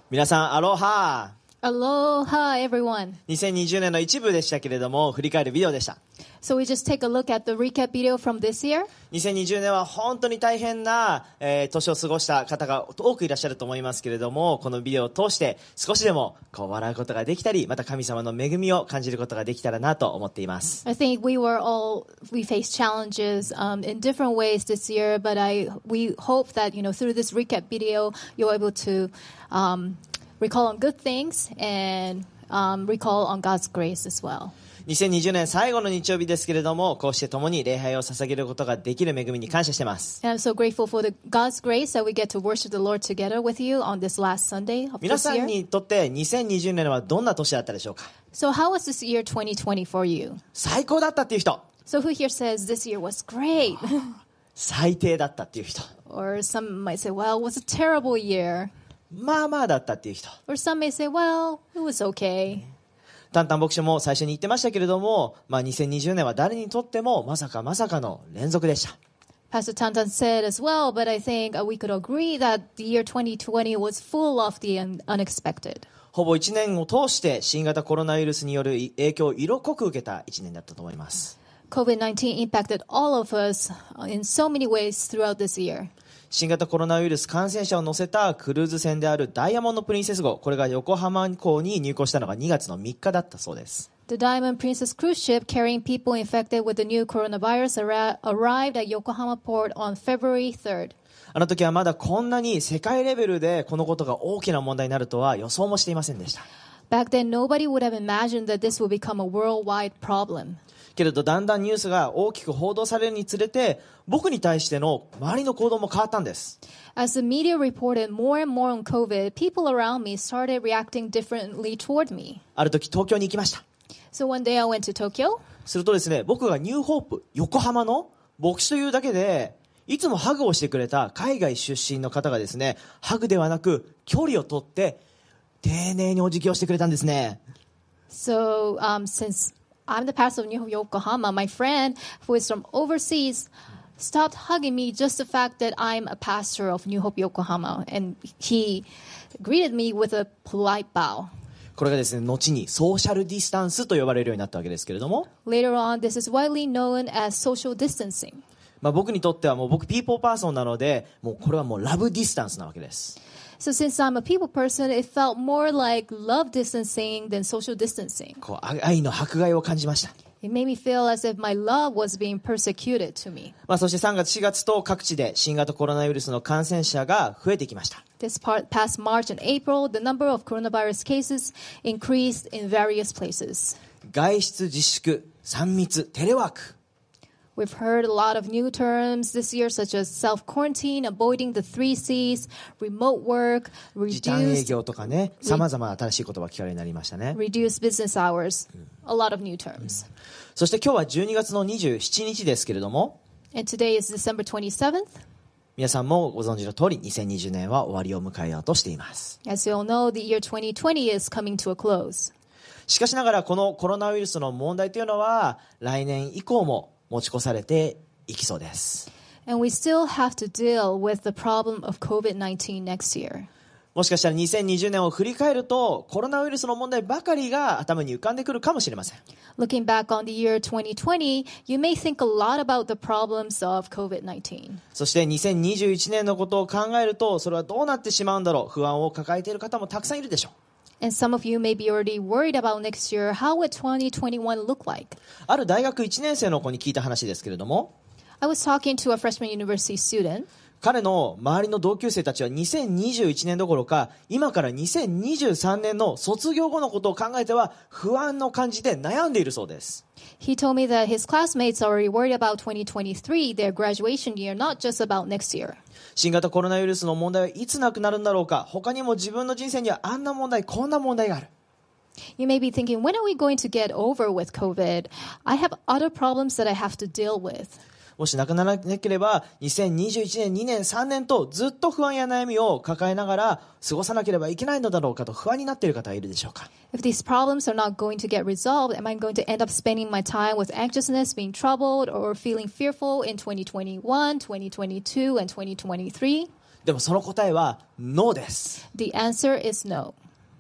皆さん、アロハ。 Aloha, everyone. 2020年の一部でしたけれども、振り返るビデオでした。 So we just take a look at the recap video from this year. 2020年は本当に大変な、年を過ごした方が多くいらっしゃると思いますけれども、このビデオを通して少しでもこう笑うことができたり、また神様の恵みを感じることができたらなと思っています。 I think we faced challenges in different ways this year, but we hope that, through this recap video, you're able to recall on good things and recall on God's grace as well. 2020年最後の日曜日ですけれども、こうして共に礼拝を捧げることができる恵みに感謝しています。 And I'm so grateful for God's grace that we get to worship the Lord together with you on this last Sunday of 皆 this さん year. にとって2020年はどんな年だったでしょうか？ So how was this year 2020 for you? 最高だったっていう人、 So who here says this year was great? 最低だったっていう人、 Or some might say, well, it was a terrible year. まあまあだったっていう人。 Or some may say, well, it was okay. タンタン牧師も最初に言ってましたけれども、2020年は誰にとってもまさかの連続でした。 Pastor Tantan said as well, but I think we could agree that the year 2020 was full of the unexpected. ほぼ1年を通して新型コロナウイルスによる影響を色濃く受けた1年だったと思います。 COVID-19 impacted all of us in so many ways throughout this year. 新型コロナウイルス感染者を乗せたクルーズ船であるダイヤモンドプリンセス号、これが横浜港に入港したのが2月の3日だったそうです。 The Diamond Princess cruise ship carrying people infected with the new coronavirus arrived at Yokohama port on February 3rd. あの時はまだこんなに世界レベルでこのことが大きな問題になるとは予想もしていませんでした。 Back then, nobody would have imagined that this would become a worldwide problem. けれどだんだんニュースが大きく報道されるにつれて、僕に対しての周りの行動も変わったんです。 As the media reported more and more on COVID, people around me started reacting differently toward me. ある時東京に行きました。 So one day I went to Tokyo. するとですね、僕がニューホープ横浜の牧師というだけでいつもハグをしてくれた海外出身の方がですね、ハグではなく距離を取って丁寧にお辞儀をしてくれたんですね。 So since I'm the pastor of New Yokohama, my friend who is from overseas stopped hugging me just the fact that I'm a pastor of New Hope Yokohama, and he greeted me with a polite bow. これがですね、後にソーシャルディスタンスと呼ばれるようになったわけですけれども、 Later on, this is widely known as social distancing. 僕にとってはもう僕ピーポーパーソンなので、もうこれはもうラブディスタンスなわけです。 So since I'm a people person, it felt more like love distancing than social distancing. こう愛の迫害を感じました。 It made me feel as if my love was being persecuted to me. そして3月4月と各地で新型コロナウイルスの感染者が増えてきました。 This past March and April, the number of coronavirus cases increased in various places. 外出自粛、3密、テレワーク。 We've heard a lot of new terms this year, such as self-quarantine, avoiding the 3 C's, remote work, 時短営 reduced 業とかね、様々な新しい言葉が聞かれるようになりましたね。 business hours, a lot of new terms. そして今日は12月の27日ですけれども、 And today is December 27th. 皆さんもご存知の通り2020年は終わりを迎えようとしています。 As you all know, the year 2020 is coming to a close. しかしながらこのコロナウイルスの問題というのは来年以降も持ち越されていきそうです。 And we still have to deal with the problem of COVID-19 next year. もしかしたら2020年を振り返るとコロナウイルスの問題ばかりが頭に浮かんでくるかもしれません。 Looking back on the year 2020, you may think a lot about the problems of COVID-19. そして2021年のことを考えるとそれはどうなってしまうんだろう、不安を抱えている方もたくさんいるでしょう。 And some of you may be already worried about next year. How would 2021 look like? ある大学1年生の子に聞いた話ですけれども、 I was talking to a freshman university student. 彼の周りの同級生たちは2021年どころか今から2023年の卒業後のことを考えては不安を感じて悩んでいるそうです。 He told me that his classmates are already worried about 2023, their graduation year, not just about next year. 新型コロナウイルスの問題はいつなくなるんだろうか、他にも自分の人生にはあんな問題こんな問題がある。 You may be thinking, when are we going to get over with COVID? I have other problems that I have to deal with. もしなくならなければ2021年2年3年とずっと不安や悩みを抱えながら過ごさなければいけないのだろうかと不安になっている方はいるでしょうか。 If these problems are not going to get resolved, am I going to end up spending my time with anxiousness, being troubled, or feeling fearful in 2021, 2022, and 2023? でもその答えはノーです。 The answer is no.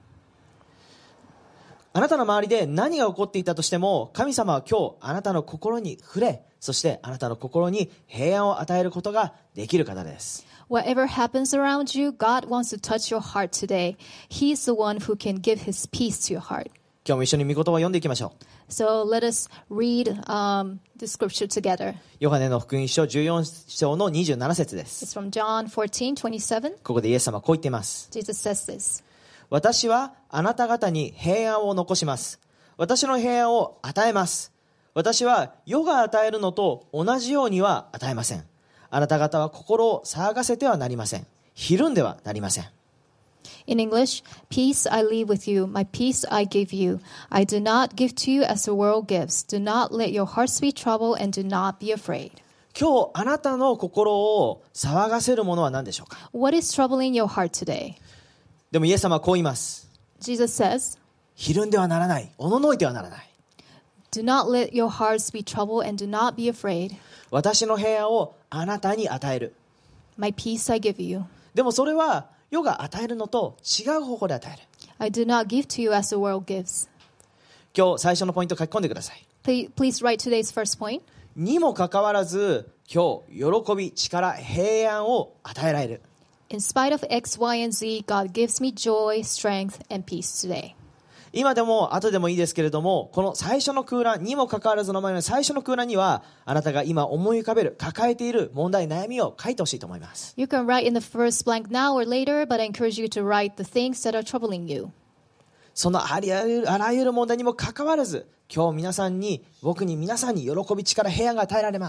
あなたの周りで何が起こっていたとしても、神様は今日あなたの心に触れ、そしてあなたの心に平安を与えることができる方です。 Whatever happens around you, God wants to touch your heart today. He's the one who can give his peace to your heart. 今日も一緒に御言葉を読んでいきましょう。 So let us read the scripture together. ヨハネの福音書14章の27節です。 It's from John 14:27. ここでイエス様はこう言っています。 Jesus says this. 私はあなた方に平安を残します。私の平安を与えます。私は世が与えるのと同じようには与えません。あなた方は心を騒がせてはなりません。ひるんではなりません。 In English, peace I leave with you, my peace I give you. I do not give to you as the world gives. Do not let your hearts be troubled and do not be afraid. 今日あなたの心を騒がせるものは何でしょうか。 What is troubling your heart today? でもイエス様はこう言います。 Jesus says, ひるんではならない。おののいてはならない。 do not let your hearts be troubled and do not be afraid. 私の平安をあなたに与える。 My peace I give you. でもそれは世が与えるのと違う方法で与える。 I do not give to you as the world gives. 今日最初のポイントを書き込んでください。 Please write today's first point. にもかかわらず今日喜び、力、平安を与えられる。 In spite of X, Y, and Z, God gives me joy, strength, and peace today. 今でも後でもいいですけれども、この最初の空欄にもかかわらずの前の最初の空欄にはあなたが今思い浮かべる抱えている問題、悩みを書いてほしいと思います。 You can write in the first blank now or later, but I encourage you to write the things that are troubling you. そのあらゆる問題にもかかわらず今日僕に皆さんに喜び、力、平安が与えられます。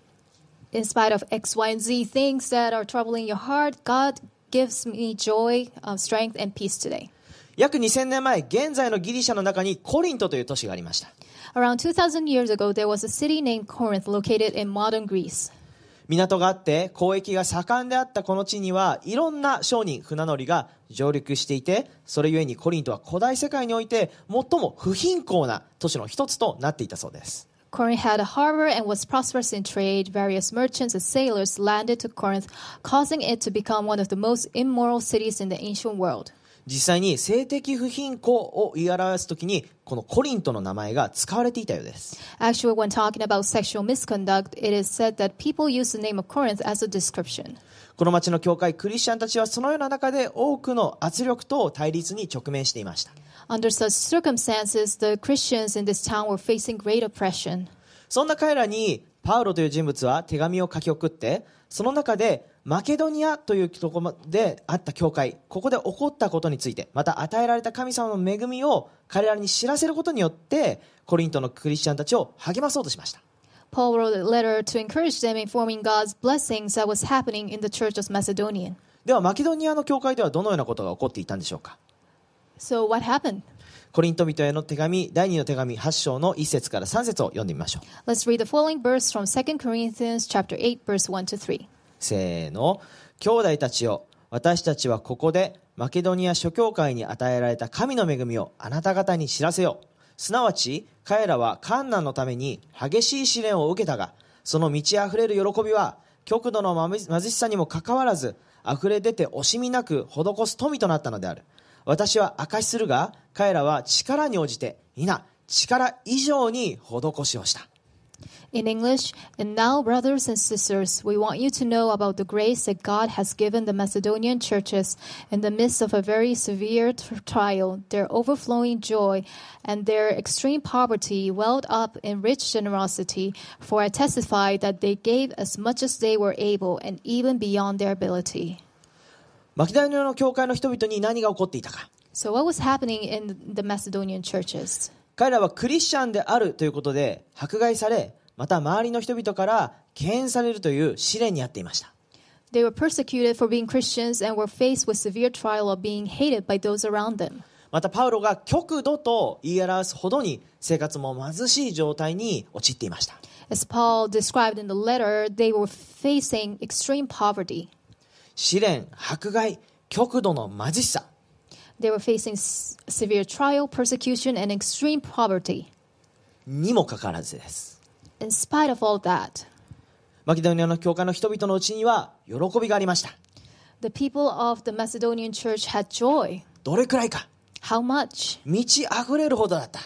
In spite of X, Y, and Z things that are troubling your heart, God gives me joy, strength, and peace today. 約2000年前、現在のギリシャの中にコリントという都市がありました。 Around 2,000 years ago, there was a city named Corinth located in modern Greece. 港があって交易が盛んであったこの地にはいろんな商人、船乗りが上陸していて、それゆえにコリントは古代世界において最も不貧困な都市の一つとなっていたそうです。 Corinth had a harbor and was prosperous in trade. Various merchants and sailors landed to Corinth, causing it to become one of the most immoral cities in the ancient world. 実際に性的不貧困を言い表すときにこのコリントの名前が使われていたようです。 Actually, when talking about sexual misconduct, it is said that people use the name of Corinth as a description. この町の教会クリスチャンたちはそのような中で多くの圧力と対立に直面していました。 Under such circumstances, the Christians in this town were facing great oppression. そんな彼らにパウロという人物は手紙を書き送って、その中でマケドニアというところであった教会、ここで起こったことについて、また与えられた神様の恵みを彼らに知らせることによってコリントのクリスチャンたちを励まそうとしました。 Paul wrote a letter to encourage them, informing God's blessings that was happening in the church of Macedonia. ではマケドニアの教会ではどのようなことが起こっていたんでしょうか。 So what happened? コリント人への手紙第2の手紙8章の1節から3節を読んでみましょう。 Let's read the following verse from 2 Corinthians chapter 8, verse 1 to 3. せーの。兄弟たちよ、私たちはここでマケドニア諸教会に与えられた神の恵みをあなた方に知らせよう。すなわち彼らは患難のために激しい試練を受けたが、その満ち溢れる喜びは極度の貧しさにもかかわらず溢れ出て惜しみなく施す富となったのである。私は証しするが、彼らは力に応じて、力以上に施しをした。 In English, and now, brothers and sisters, we want you to know about the grace that God has given the Macedonian churches in the midst of a very severe trial. Their overflowing joy and their extreme poverty welled up in rich generosity, for I testify that they gave as much as they were able and even beyond their ability. マケドニアの教会の人々に何が起こっていたか。 So what was happening in the Macedonian churches? 彼らはクリスチャンであるということで迫害され、また周りの人々から敬遠されるという試練にあっていました。 They were persecuted for being Christians and were faced with severe trial of being hated by those around them. またパウロが極度と言い表すほどに生活も貧しい状態に陥っていました。 As Paul described in the letter, they were facing extreme poverty. 試練、迫害、極度の貧しさ。 They were facing severe trial, persecution, and extreme poverty. にもかかわらずです。 In spite of all that, マケドニアの教会の人々のうちには喜びがありました。 The people of the Macedonian church had joy. どれくらいか。 How much? 満ち溢れるほどだった。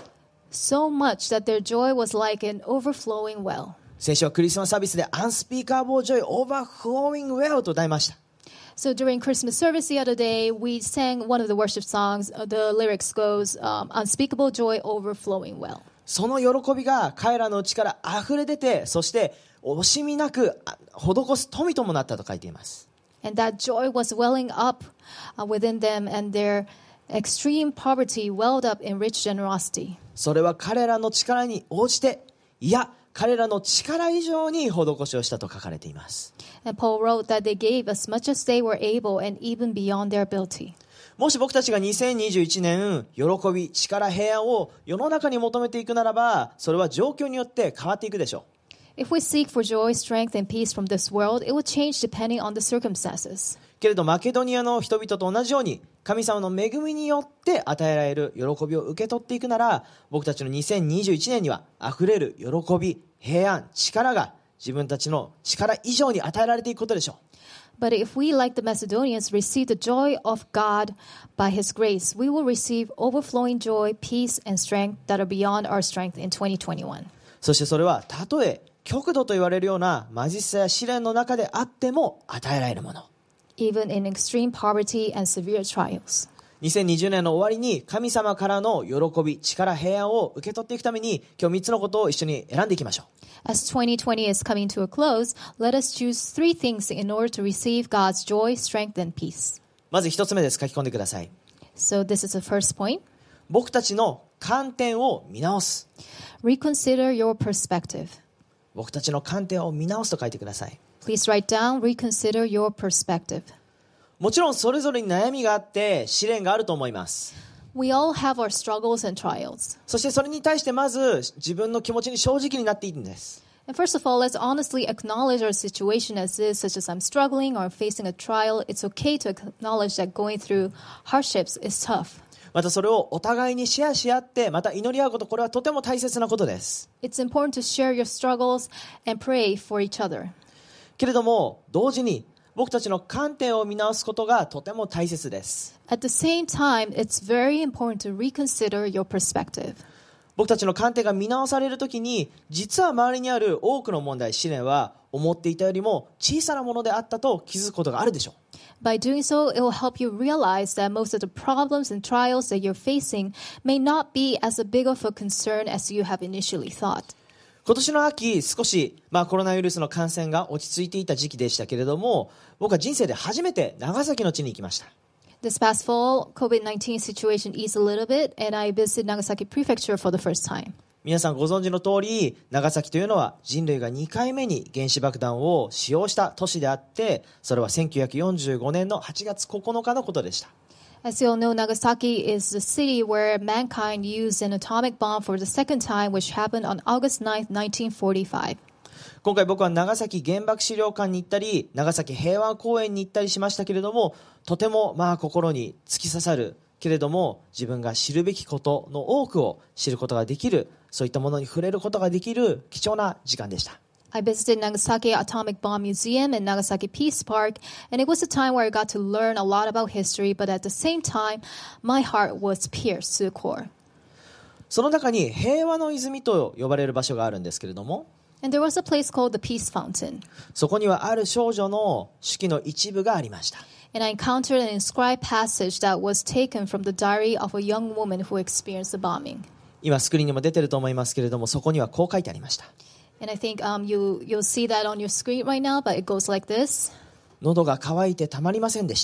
So much that their joy was like an overflowing well. 先週はクリスマスサービスで Unspeakable Joy Overflowing Well と歌いました。 So during Christmas service the other day, we sang one of the worship songs. The lyrics goes, unspeakable joy overflowing well. その喜びが彼らの内から溢れ出て、そして惜しみなく施す富ともなったと書いています。 And that joy was welling up within them, and their extreme poverty welled up in rich generosity. それは彼らの力に応じて、いや彼らの力以上に施しをしたと書かれています。 And Paul wrote that they gave as much as they were able and even beyond their ability. もし僕たちが2021年、喜び、力、平安を世の中に求めていくならば、それは状況によって変わっていくでしょう。 If we seek for joy, strength, and peace from this world, it will change depending on the circumstances. けれどマケドニアの人々と同じように神様の恵みによって与えられる喜びを受け取っていくなら、僕たちの2021年には溢れる喜び、平安、力が自分たちの力以上に与えられていくことでしょう。 But if we, like the Macedonians, receive the joy of God by His grace, we will receive overflowing joy, peace, and strength that are beyond our strength in 2021. そしてそれはたとえ極度と言われるような貧しさや試練の中であっても与えられるもの。 Even in extreme poverty and severe trials. 2020年の終わりに神様からの喜び、力、平安を受け取っていくために今日3つのことを一緒に選んでいきましょう。 As 2020 is coming to a close, let us choose 3 things in order to receive God's joy, strength, and peace. まず1つ目です。書き込んでください。 So this is the first point. 僕たちの観点を見直す。 Reconsider your perspective. 僕たちの観点を見直すと書いてください。 Please write down, reconsider your perspective. もちろんそれぞれに悩みがあって試練があると思います。 We all have our struggles and trials. そしてそれに対してまず自分の気持ちに正直になっていいんです。 And first of all, let's honestly acknowledge our situation as is, such as I'm struggling or facing a trial. It's okay to acknowledge that going through hardships is tough. またそれをお互いにシェアし合ってまた祈り合うこと、これはとても大切なことです。 It's important to share your struggles and pray for each other. けれども同時に僕たちの観点を見直すことがとても大切です。 At the same time, it's very important to reconsider your perspective. 僕たちの観点が見直されるときに、実は周りにある多くの問題、試練は思っていたよりも小さなものであったと気づくことがあるでしょう。 By doing so, it will help you realize that most of the problems and trials that you're facing may not be as big of a concern as you have initially thought. 今年の秋、少し、コロナウイルスの感染が落ち着いていた時期でしたけれども、僕は人生で初めて長崎の地に行きました。 This past fall, COVID-19 situation eased a little bit, and I visited Nagasaki Prefecture for the first time. 皆さんご存知の通り、長崎というのは人類が2回目に原子爆弾を使用した都市であって、それは1945年の8月9日のことでした。 As you all know, Nagasaki is the city where mankind used an atomic bomb for the second time, which happened on August 9th, 1945. 今回僕は長崎原爆資料館に行ったり、長崎平和公園に行ったりしましたけれども、とても心に突き刺さるけれども、自分が知るべきことの多くを知ることができる、そういったものに触れることができる貴重な時間でした。 I visited Nagasaki Atomic Bomb Museum and Nagasaki Peace Park, and it was a time where I got to learn a lot about history, but at the same time, my heart was pierced to the core. その中に平和の泉と呼ばれる場所があるんですけれども、 And there was a place called the Peace Fountain. そこにはある少女の手記の一部がありました。 And I encountered an inscribed passage that was taken from the diary of a young woman who experienced the bombing. 今スクリーンにも出てると思いますけれども、そこにはこう書いてありました。 And I think you'll see that on your screen right now, but it goes like this. 喉が渇いてたまりませんでした。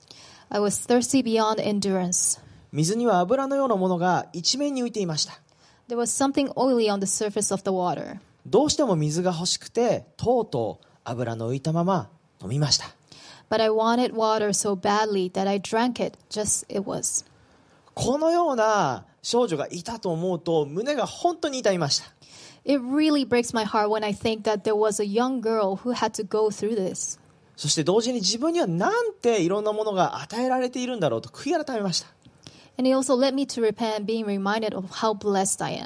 I was thirsty beyond endurance. 水には油のようなものが一面に浮いていました。 There was something oily on the surface of the water. どうしても水が欲しくて、とうとう油の浮いたまま飲みました。 But I wanted water so badly that I drank it just it was. このような少女がいたと思うと胸が本当に痛みました。 It really breaks my heart when I think that there was a young girl who had to go through this. そして同時に自分にはなんていろんなものが与えられているんだろうと悔い改めました。 And it also led me to repent, being reminded of how blessed I am.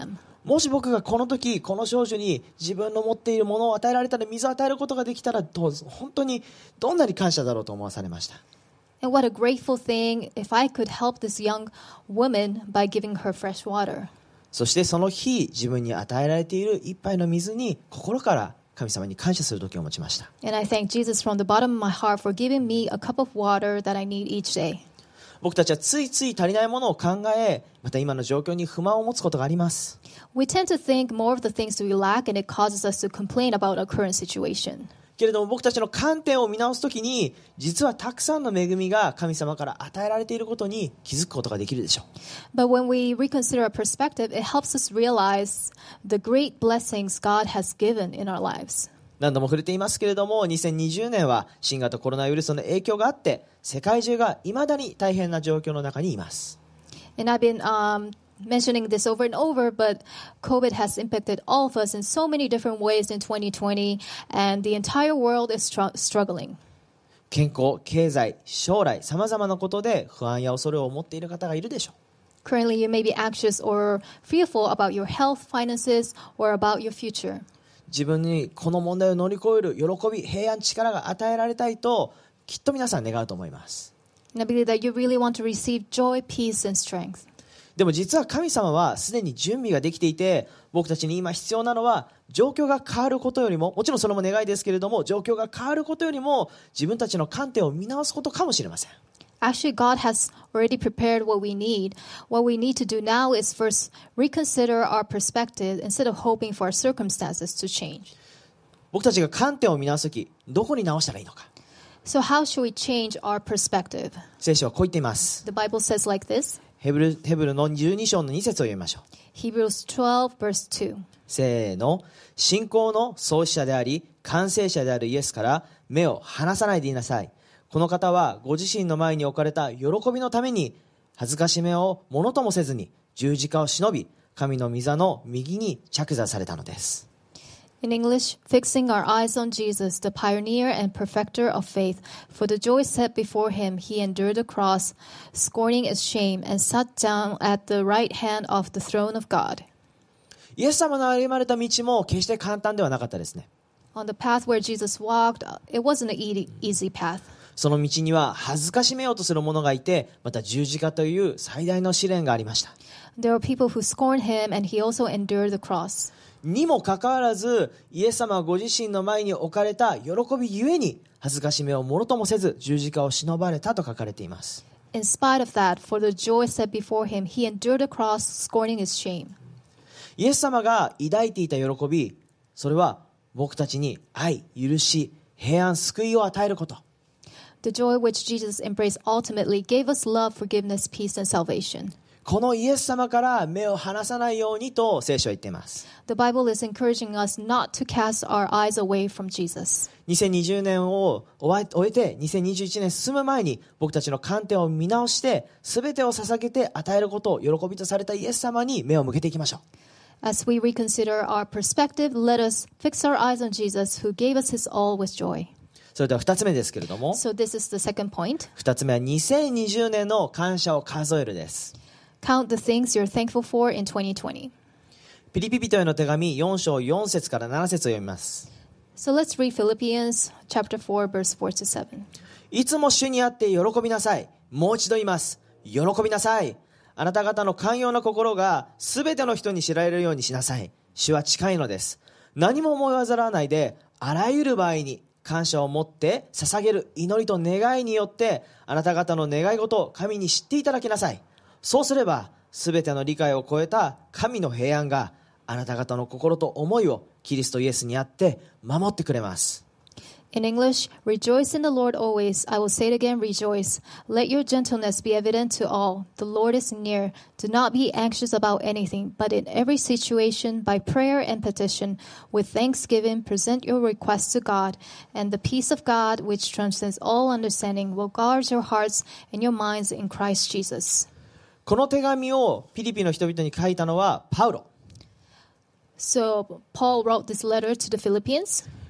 もし僕がこの時この少女に自分の持っているものを与えられたら、水を与えることができたら、本当にどんなに感謝だろうと思わされました。 And what a grateful thing if I could help this young woman by giving her fresh water. そしてその日、自分に与えられている一杯の水に心から神様に感謝する時を持ちました。 And I thank Jesus from the bottom of my heart for giving me a cup of water that I need each day. 僕たちはついつい足りないものを考え、また今の状況に不満を持つことがあります。 We tend to think more of the things that we lack, and it causes us to complain about our current situation. けれども僕たちの観点を見直すときに、実はたくさんの恵みが神様から与えられていることに気づくことができるでしょう。 But when we reconsider our perspective, it helps us realize the great blessings God has given in our lives. 何度も触れていますけれども、2020年は新型コロナウイルスの影響があって、世界中が未だに大変な状況の中にいます。 And I've been mentioning this over and over, but COVID has impacted all of us in so many different ways in 2020, and the entire world is struggling. 健康、経済、将来、様々なことで不安や恐れを持っている方がいるでしょう。 Currently, you may be anxious or fearful about your health, finances, or about your future. 自分にこの問題を乗り越える喜び、平安、力が与えられたいと、きっと皆さん願うと思います。 And I believe that you really want to receive joy, peace, and strength. でも実は神様はすでに準備ができていて、僕たちに今必要なのは状況が変わることよりも、もちろんそれも願いですけれども、状況が変わることよりも自分たちの観点を見直すことかもしれません。 Actually, God has already prepared what we need. What we need to do now is first reconsider our perspective instead of hoping for our circumstances to change. 僕たちが観点を見直すとき、どこに直したらいいのか。 So how should we change our perspective? 聖書はこう言っています。 The Bible says like this. ヘブルの12章の2節を読みましょう。 Hebrews 12 verse 2. せーの。信仰の創始者であり完成者であるイエスから目を離さないでいなさい。この方はご自身の前に置かれた喜びのために恥ずかしめをものともせずに十字架を忍び、神の御座の右に着座されたのです。 In English, fixing our eyes on Jesus, the pioneer and perfecter of faith, for the joy set before him, he endured the cross, scorning its shame, and sat down at the right hand of the throne of God. イエス様の歩まれた道も決して簡単ではなかったですね。 On the path where Jesus walked, it wasn't an easy path. その道には恥ずかしめようとする者がいて、また十字架という最大の試練がありました。 There were people who scorned him, and he also endured the cross. にもかかわらず、イエス様はご自身の前に置かれた喜びゆえに恥ずかしめをものともせず十字架を忍ばれたと書かれています。 In spite of that, for the joy set before him, he endured the cross, scorning its shame. イエス様が抱いていた喜び、それは僕たちに愛、許し、平安、救いを与えること。 The joy which Jesus embraced ultimately gave us love, forgiveness, peace, and salvation. このイエス様から目を離さないようにと聖書は言っています。 The Bible is encouraging us not to cast our eyes away from Jesus. 2020年を終えて2021年進む前に僕たちの観点を見直して全てを捧げて与えることを喜びとされたイエス様に目を向けていきましょう。 As we reconsider our perspective, let us fix our eyes on Jesus, who gave us his all with joy. それでは2つ目ですけれども、 So this is the second point. 2つ目は2020年の感謝を数えるです。 Count the things you're thankful for in 2020. ピリピ人への手紙4章4節から7節を読みます。 So let's read Philippians chapter 4, verse 4 to 7. いつも主にあって喜びなさい。もう一度言います。喜びなさい。あなた方の寛容な心がすべての人に知られるようにしなさい。主は近いのです。何も思い煩わないで、あらゆる場合に感謝を持って捧げる祈りと願いによって、あなた方の願い事を神に知っていただきなさい。そうすれば、すべての理解を超えた神の平安があなた方の心と思いをキリストイエスにあって守ってくれます。 In English, rejoice in the Lord always. I will say it again, rejoice. Let your gentleness be evident to all. The Lord is near. Do not be anxious about anything, but in every situation, by prayer and petition, with thanksgiving, present your requests to God, and the peace of God, which transcends all understanding, will guard your hearts and your minds in Christ Jesus. この手紙をピリピの人々に書いたのはパウロ。 So Paul wrote this letter to the Philippians.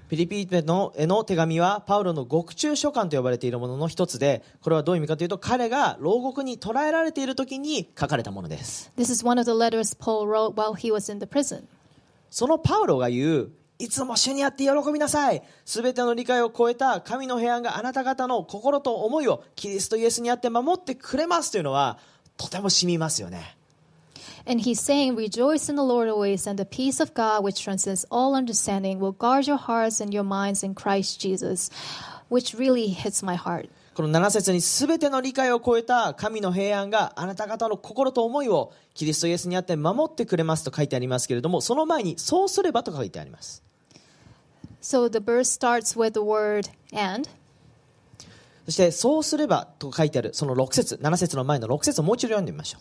ピリピへの手紙はパウロの獄中書簡と呼ばれているものの一つで、これはどういう意味かというと、彼が牢獄に捕らえられている時に書かれたものです。 This is one of the letters Paul wrote while he was in the prison. そのパウロが言う、いつも主にあって喜びなさい。すべての理解を超えた神の平安があなた方の心と思いをキリストイエスにあって守ってくれますというのは、とても染みますよね。 And he's saying, rejoice in the Lord always, and the peace of God, which transcends all understanding, will guard your hearts and your minds in Christ Jesus, which really hits my heart. この7節にすべての理解を超えた神の平安があなた方の心と思いをキリストイエスにあって守ってくれますと書いてありますけれども、その前にそうすればと書いてあります。 So the verse starts with the word and. そしてそうすればと書いてあるその6節、7節の前の6節をもう一度読んでみましょう。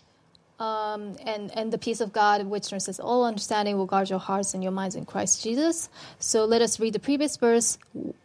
And the peace of God, which transcends all understanding, will guard your hearts and your minds in Christ Jesus. So let us read the previous verse,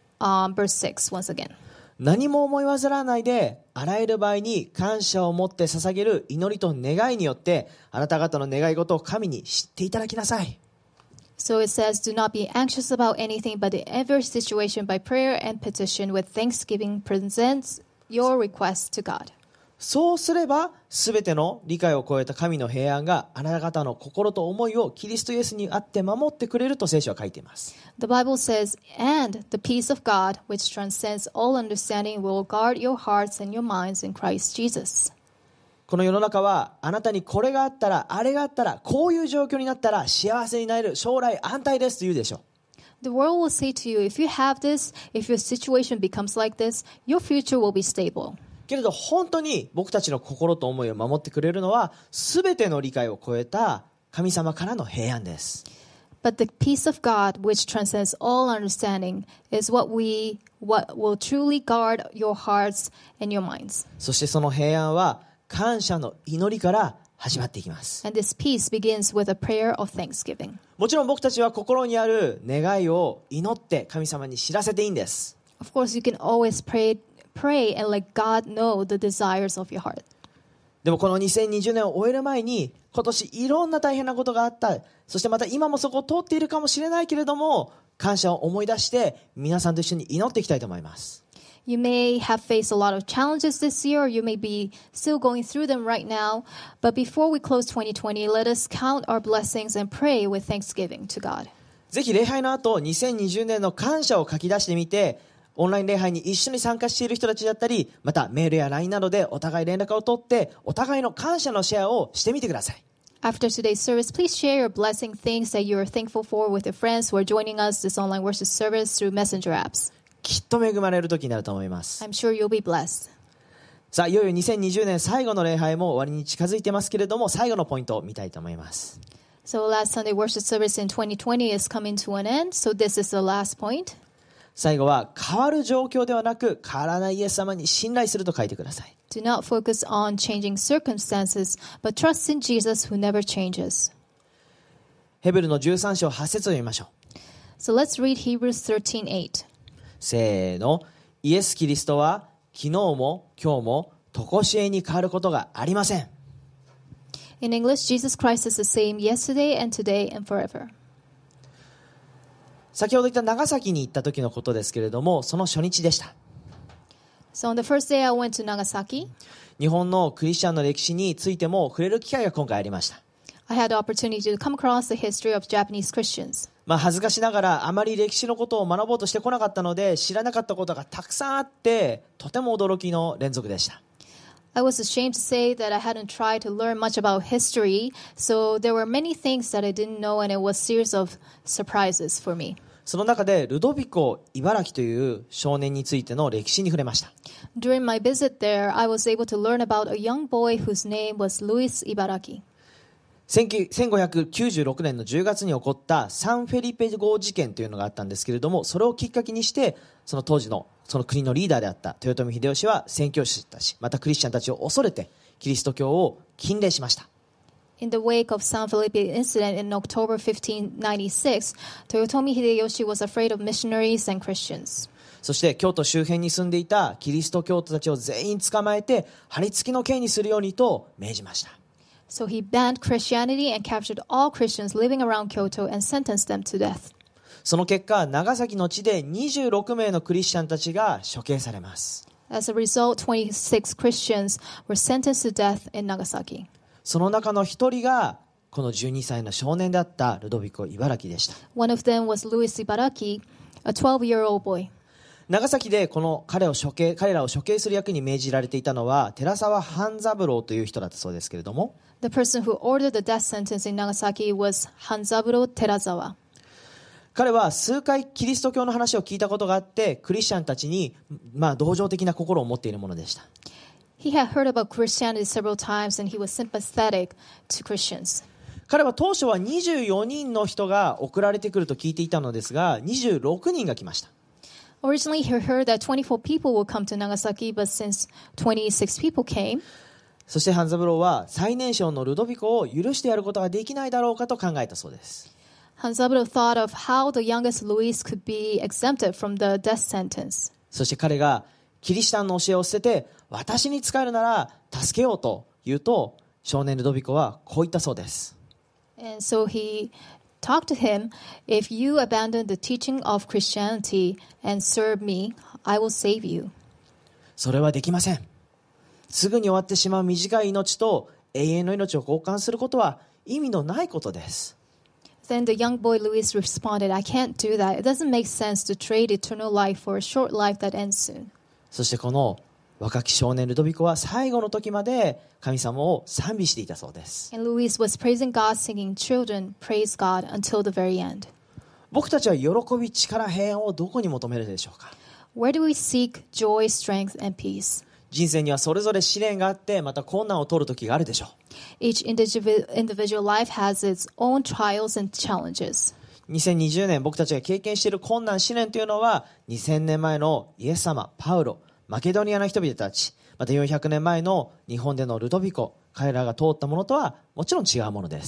verse 6 once again. 何も思い煩わないで、あらゆる場合に感謝を持って捧げる祈りと願いによって、あなた方の願い事を神に知っていただきなさい。 So it says, do not be anxious about anything, but in every situation by prayer and petition with thanksgiving present your requests to God. そうすれば、すべての理解を超えた神の平安があなた方の心と思いをキリストイエスにあって守ってくれると聖書は書いています。 The Bible says, and the peace of God, which transcends all understanding, will guard your hearts and your minds in Christ Jesus. この世の中は、あなたにこれがあったら、あれがあったら、こういう状況になったら幸せになれる、将来安泰ですと言うでしょう。 The world will say to you, if you have this, if your situation becomes like this, your future will be stable. けれど本当に僕たちの心と思いを守ってくれるのは、すべての理解を超えた神様からの平安です。 But the peace of God, which transcends all understanding, is what will truly guard your hearts and your minds. そしてその平安は感謝の祈りから始まっていきます。 And this peace begins with a prayer of thanksgiving. もちろん僕たちは心にある願いを祈って神様に知らせていいんです。 Of course, you can always pray and let God know the desires of your heart. でもこの2020年を終える前に、今年いろんな大変なことがあった。そしてまた今もそこを通っているかもしれないけれども、感謝を思い出して皆さんと一緒に祈っていきたいと思います。 You may have faced a lot of challenges this year, or you may be still going through them right now. But before we close 2020, let us count our blessings and pray with thanksgiving to God. ぜひ礼拝の後、2020年の感謝を書き出してみて、オンライン礼拝に一緒に参加している人たちだったり、またメールや LINE などでお互い連絡を取って、お互いの感謝のシェアをしてみてください。 After today's service, please share your blessing things that you are thankful for with your friends who are joining us this online worship service through messenger apps. きっと恵まれる時になると思います。 I'm sure you'll be blessed. さあ、いよいよ2020年最後の礼拝も終わりに近づいてますけれども、最後のポイントを見たいと思います。 So last Sunday worship service in 2020 is coming to an end. So this is the last point. 最後は変わる状況ではなく変わらないイエス様に信頼すると書いてください。 Do not focus on changing circumstances, but trust in Jesus who never changes. ヘブルの13章8節を読みましょう。 So let's read Hebrews 13:8. せーの。イエス・キリストは昨日も今日も常しえに変わることがありません。 In English, Jesus Christ is the same yesterday and today and forever. 先ほど言った長崎に行った時のことですけれども、その初日でした。 So on the first day I went to Nagasaki. 日本のクリスチャンの歴史についても触れる機会が今回ありました。 I had the opportunity to come across the history of Japanese Christians. 恥ずかしながらあまり歴史のことを学ぼうとしてこなかったので、知らなかったことがたくさんあって、とても驚きの連続でした。 I was ashamed to say that I hadn't tried to learn much about history, so there were many things that I didn't know, and it was a series of surprises for me. その中でルドビコ・茨城という少年についての歴史に触れました。 During my visit there, I was able to learn about a young boy whose name was Luis Ibaraki. 1596年の10月に起こったサンフェリペ号事件というのがあったんですけれども、それをきっかけにしてその当時のその国のリーダーであった豊臣秀吉は宣教師たち、またクリスチャンたちを恐れてキリスト教を禁令しました。 In the wake of San Felipe incident in October 1596, Toyotomi Hideyoshi was afraid of missionaries and Christians. そして京都周辺に住んでいたキリスト教徒たちを全員捕まえて貼り付きの刑にするようにと命じました。 So he banned Christianity and captured all Christians living around Kyoto and sentenced them to death. その結果、長崎の地で26名のクリスチャンたちが処刑されます。 As a result, 26 Christians were sentenced to death in Nagasaki. その中の一人がこの12歳の少年であったルドビコ・イバラキでした。 One of them was Louis Ibaraki, a 12-year-old boy. 長崎でこの彼らを処刑する役に命じられていたのは寺沢半三郎という人だったそうですけれども、 The person who ordered the death sentence in Nagasaki was Hanzaburo Terazawa. 彼は数回キリスト教の話を聞いたことがあって、クリスチャンたちに同情的な心を持っているものでした。 He had heard about Christianity several times and he was sympathetic to Christians. 彼は当初は24人の人が送られてくると聞いていたのですが、26人が来ました。 Originally, he heard that 24 people would come to Nagasaki, but since 26 people came, そして半三郎は最年少のルドビコを許してやることができないだろうかと考えたそうです。 Hanzaburo thought of how the youngest Luis could be exempted from the death sentence. そして彼がキリシタンの教えを捨てて私に仕えるなら助けようと言うと、少年ルドビコはこう言ったそうです。 And so he talked to him, if you abandon the teaching of Christianity and serve me, I will save you. それはできません。すぐに終わってしまう短い命と永遠の命を交換することは意味のないことです。 Then the young boy Luis responded, I can't do that. It doesn't make sense to trade eternal life for a short life that ends soon. そしてこの若き少年ルドビコは最後の時まで神様を賛美していたそうです。 And Luis was praising God, singing, Children, praise God until the very end. 僕たちは喜び、力、平安をどこに求めるでしょうか。 Where do we seek joy, strength, and peace? 人生にはそれぞれ試練があって、また困難を通る時があるでしょう。 Each individual life has its own trials and challenges. 2020年僕たちが経験している困難、試練というのは2000年前のイエス様、パウロ、マケドニアの人々たち、また400年前の日本でのルドビコ、彼らが通ったものとはもちろん違うものです。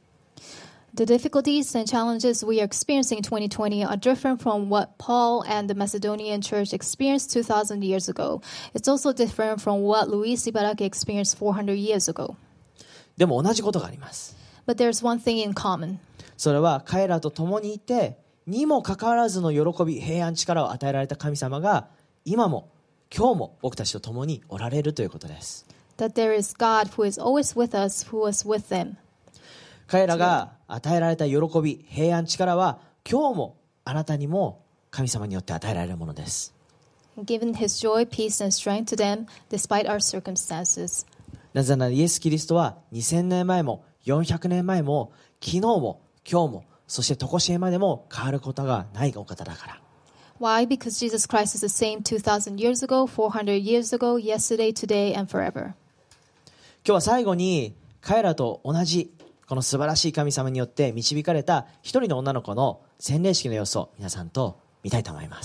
The difficulties and challenges we are experiencing in 2020 are different from what Paul and the Macedonian church experienced 2,000 years ago. It's also different from what Luis Ibaraki experienced 400 years ago. でも同じことがあります。 But there's one thing in common. それは彼らと共にいて、にもかかわらずの喜び、平安、力を与えられた神様が今も今日も僕たちと共におられるということです。 That there is God who is always with us, who was with them. 彼らが与えられた喜び、平安、力は今日もあなたにも神様によって与えられるものです。 Given his joy, peace, and strength to them despite our circumstances. なぜならイエス・キリストは2000年前も400年前も昨日も今日もそして常しえまでも変わることがないお方だから。 Why? Because Jesus Christ is the same 2,000 years ago, 400 years ago, yesterday, today, and forever. 今日は最後に彼らと同じこの素晴らしい神様によって導かれた一人の女の子の洗礼式の様子を皆さんと見たいと思います。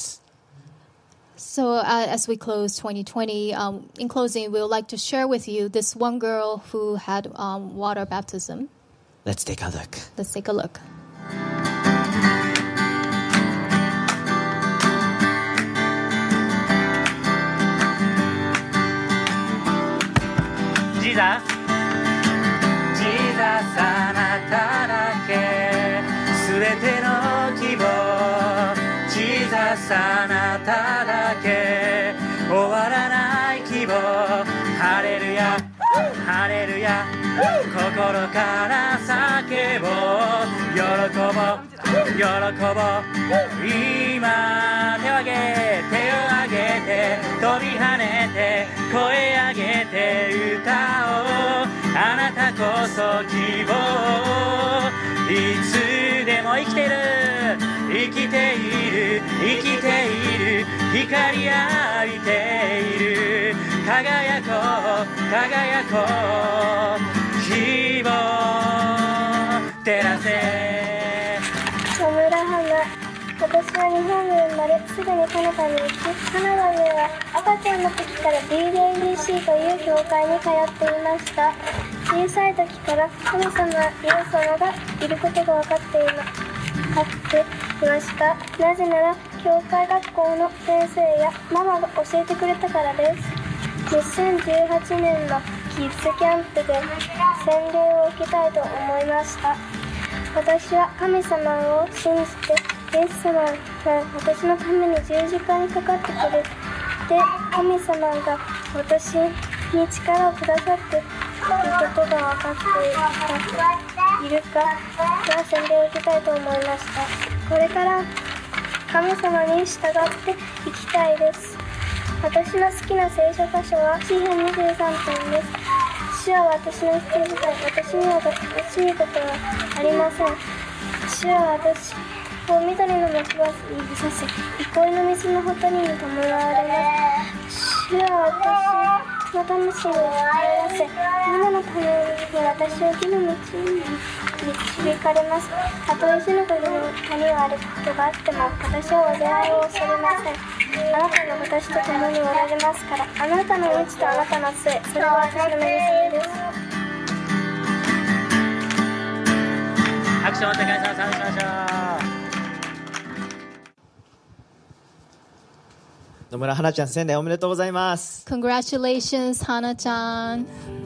So as we close 2020, in closing, we would like to share with you this one girl who had water baptism. Let's take a look. Let's take a look. Jesus, Jesus あなただけすべての希望 Jesus あなただけ終わらない希望ハレルヤハレルヤ心から叫ぼう喜ぼう喜ぼう今手を挙げ手を挙げて飛び跳ねて声上げて歌おうあなたこそ希望いつでも生きてる生きている生きている光浴びている輝こう輝こう希望照らせ野村花、私は日本で生まれすぐにカナダに行きカナダでは赤ちゃんの時から DDADC という教会に通っていました。小さい時から神様イエス様がいることが分かっていました。なぜなら教会学校の先生やママが教えてくれたからです。2018年のキッズキャンプで洗礼を受けたいと思いました。私は神様を信じてイエス様が私のために十字架にかかってくれて、神様が私に力をくださっていることが分かっているかが洗礼を受けたいと思いました。これから神様に従っていきたいです。私の好きな聖書箇所は詩編23編です。主は私の羊飼い、私には惜しいことはありません。主は私を緑の牧場にいさせ、憩いの水のほとりに弔われます。主は私の魂を帰らせ、皆のために私を義の道に導かれます。たとえ死の国の谷を歩くことがあっても、私は災いを恐れません。あなたが私と共におられますから、あなたの道とあなたの杖、それは私の目娘です。 拍手をお願いします。しましょう。 野村花ちゃん仙台おめでとうございます。 Congratulations, Hana-chan.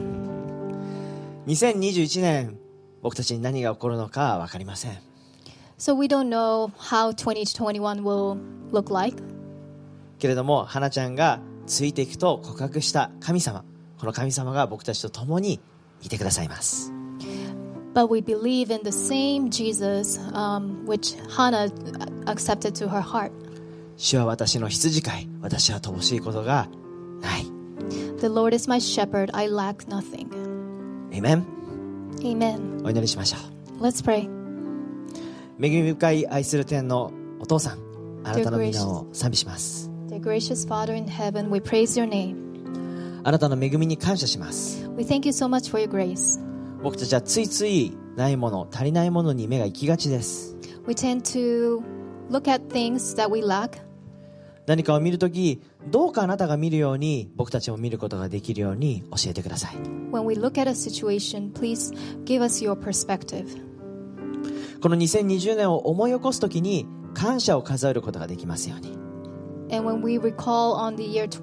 2021年僕たちに何が起こるのか分かりません。 So we don't know how 2021 will look like. けれども花ちゃんがついていくと告白した神様、この神様が僕たちと共にいてくださいます。 But we believe in the same Jesus, which Hannah accepted to her heart. 主は私の羊飼い、私は乏しいことがない。 The Lord is my shepherd, I lack nothing. アーメン。 Amen. お祈りしましょう。 Let's pray. 恵み深い愛する天のお父さん、あなたの皆を賛美します。 Dear gracious Father in heaven, we praise your name. あなたの恵みに感謝します。 We thank you so much for your grace. 僕たちはついついないもの、足りないものに目が行きがちです。 We tend to look at things that we lack. 何かを見るとき、どうかあなたが見るように僕たちも見ることができるように教えてください。 When we look at a situation, please give us your perspective. この2020年を思い起こすときに感謝を数えることができますように。 And when we recall on the year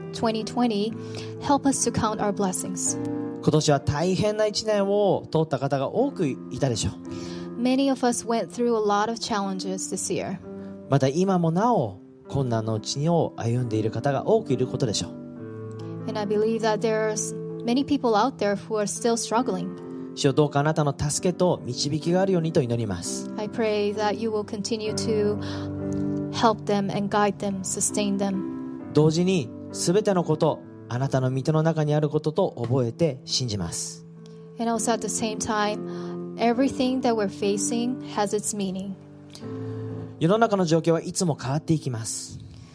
2020, help us to count our blessings. 今年は大変な1年を通った方が多くいたでしょう。 Many of us went through a lot of challenges this year. また今もなお困難のうちを歩んでいる方が多くいることでしょう。 And I believe that there's many people out there who are still struggling. 主よ、どうかあなたの助けと導きがあるようにと祈ります。 I pray that you will continue to help them and guide them, sustain them. 同時に全てのこと、あなたの御手の中にあることと覚えて信じます。 And also at the same time, everything that we're facing has its meaning. 世の中の状況はいつも変わっていきます。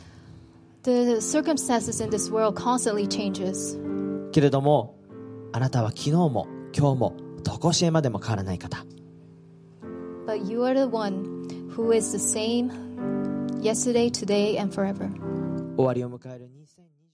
The circumstances in this world constantly changes. けれどもあなたは昨日も今日も常しえまでも変わらない方。 But you are the one who is the same yesterday, today, and forever. 終わりを迎える2020